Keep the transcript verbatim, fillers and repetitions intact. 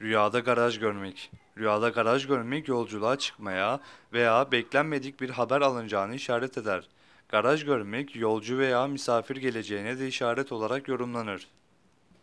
Rüyada garaj görmek. Rüyada garaj görmek yolculuğa çıkmaya veya beklenmedik bir haber alınacağını işaret eder. Garaj görmek yolcu veya misafir geleceğine de işaret olarak yorumlanır.